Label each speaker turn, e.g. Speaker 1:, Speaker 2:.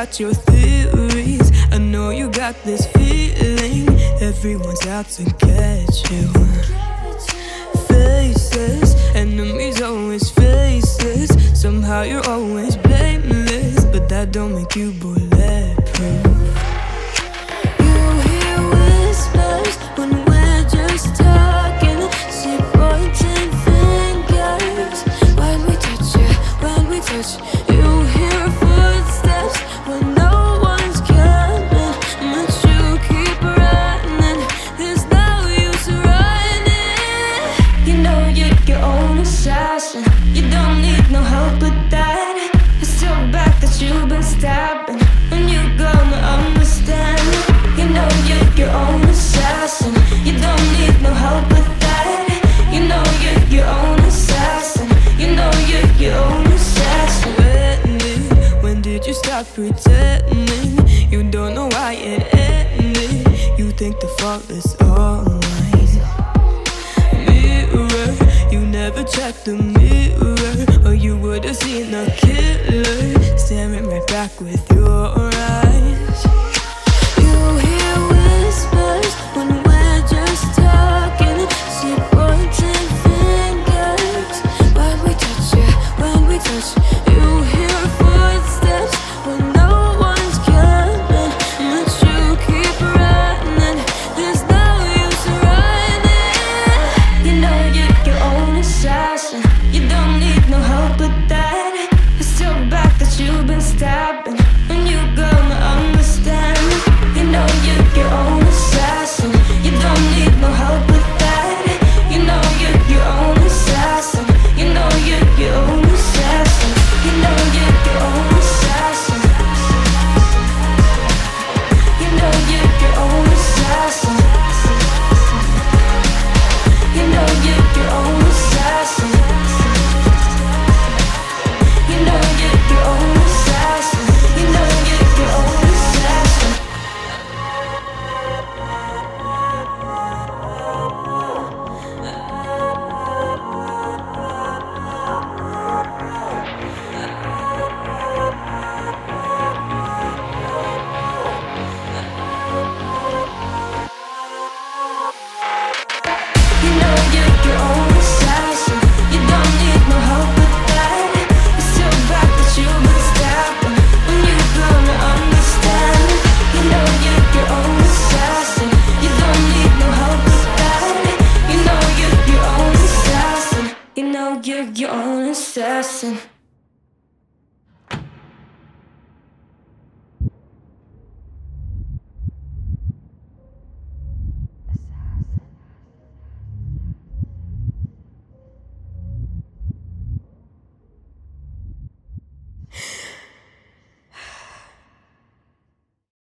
Speaker 1: got your theories. I know you got this feeling everyone's out to catch you. Faces, enemies always faces. Somehow you're always blameless, but that don't make you bulletproof. You hear whispers when we're just talking. See pointing fingers when we touch you, when we touch. You hear footsteps when no one's coming, but you keep running. There's no use running. You know you're your own assassin. You don't need no help with that. It's your back that you've been stabbing, and you're gonna understand. You know you're your own assassin. You don't need no help with that. You know you're your own assassin. You know you're your own assassin. When did you stop pretending? You don't know why it ended. You think the fault is all mine. Mirror, you never checked the mirror, or you would've seen a killer staring right back with you.